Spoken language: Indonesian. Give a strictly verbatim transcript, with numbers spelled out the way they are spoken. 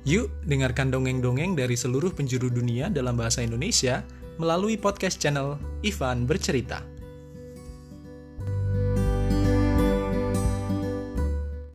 Yuk, dengarkan dongeng-dongeng dari seluruh penjuru dunia dalam bahasa Indonesia melalui podcast channel Ivan Bercerita.